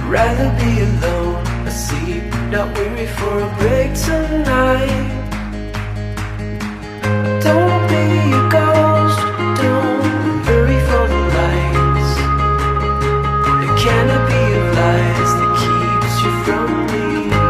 rather be alone, asleep, not weary for a break tonight. Don't be a ghost, don't hurry for the lights. The canopy of lies that keeps you from me.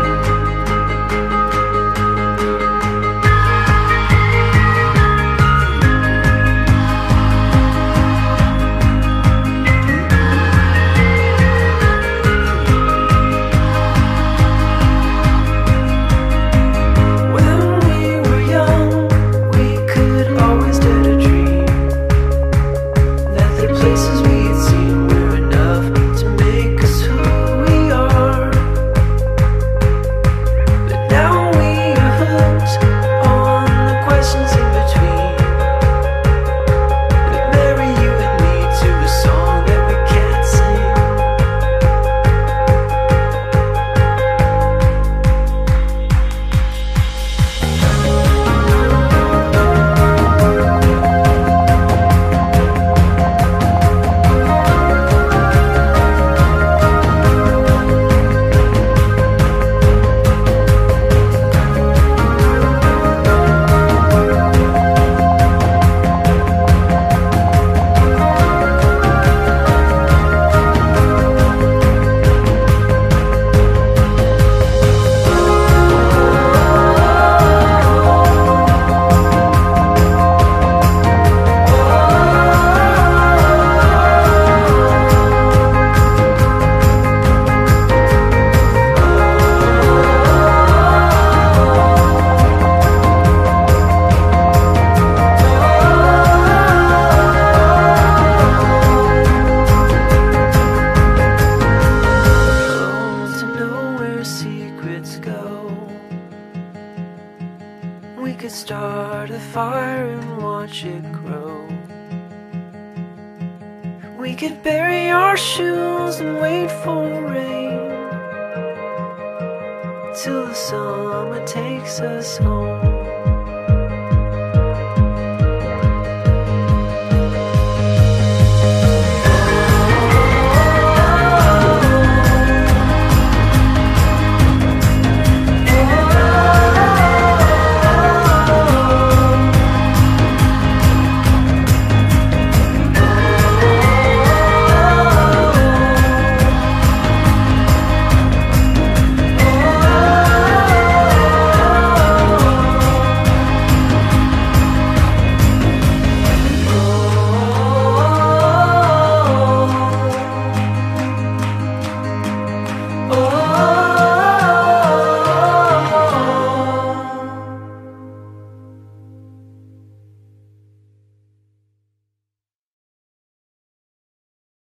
We could start a fire and watch it grow. We could bury our shoes and wait for rain till the summer takes us home.